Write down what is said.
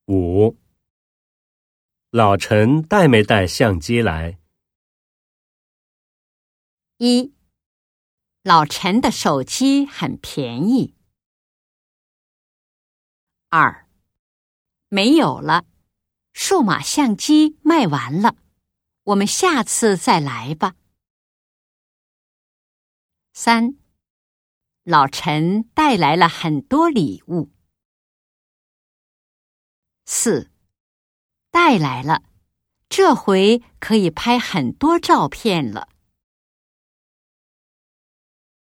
5. 老陈带没带相机来 ？1. 老陈的手机很便宜。2. 没有了，数码相机卖完了，我们下次再来吧。3. 老陈带来了很多礼物。4. 带来了，这回可以拍很多照片了。